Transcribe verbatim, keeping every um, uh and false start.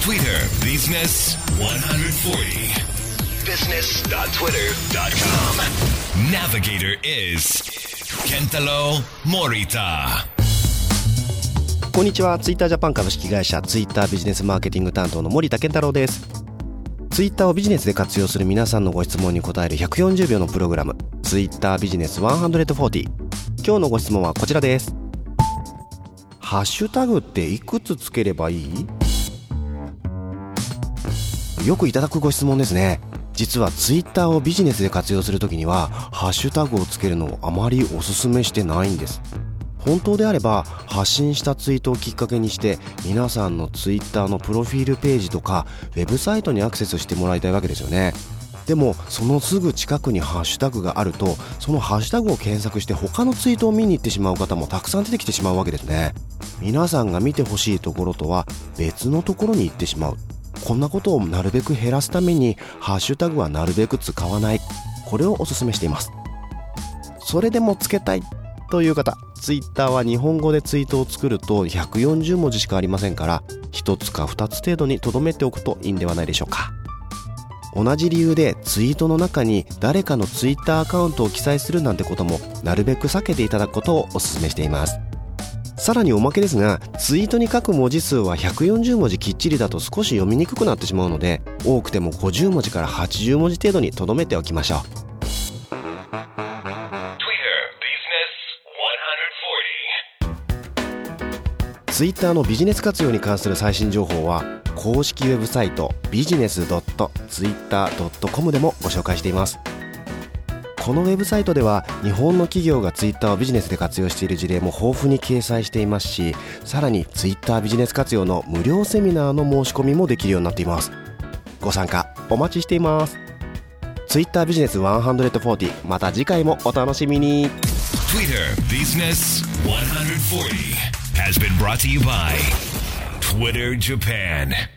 Twitter Business one forty business dot twitter dot com Navigator is Kentaro Morita。 こんにちは。ツイッタージャパン株式会社ツイッタービジネスマーケティング担当の森田健太郎です。ツイッターをビジネスで活用する皆さんのご質問に答えるひゃくよんじゅうびょうのプログラム、ツイッタービジネスいちよんゼロ。今日のご質問はこちらです。ハッシュタグっていくつつければいい？よくいただくご質問ですね。実はツイッターをビジネスで活用するときにはハッシュタグをつけるのをあまりお勧めしてないんです。本当であれば発信したツイートをきっかけにして皆さんのツイッターのプロフィールページとかウェブサイトにアクセスしてもらいたいわけですよね。でもそのすぐ近くにハッシュタグがあると、そのハッシュタグを検索して他のツイートを見に行ってしまう方もたくさん出てきてしまうわけですね。皆さんが見てほしいところとは別のところに行ってしまう。こんなことをなるべく減らすためにハッシュタグはなるべく使わない、これをお勧めしています。それでもつけたいという方、ツイッターは日本語でツイートを作るとひゃくよんじゅうもじしかありませんから、ひとつかふたつ程度に留めておくといいんではないでしょうか。同じ理由でツイートの中に誰かのツイッターアカウントを記載するなんてこともなるべく避けていただくことをお勧めしています。さらにおまけですが、ツイートに書く文字数はひゃくよんじゅうもじきっちりだと少し読みにくくなってしまうので、多くてもごじゅうもじからはちじゅうもじ程度に留めておきましょう。ツイッターのビジネス活用に関する最新情報は公式ウェブサイト ビジネスドットツイッタードットコム でもご紹介しています。このウェブサイトでは日本の企業がツイッターをビジネスで活用している事例も豊富に掲載していますし、さらにツイッタービジネス活用の無料セミナーの申し込みもできるようになっています。ご参加お待ちしています。ツイッタービジネスいちよんゼロ、また次回もお楽しみに。 Twitter Business one forty has been brought to you by Twitter Japan.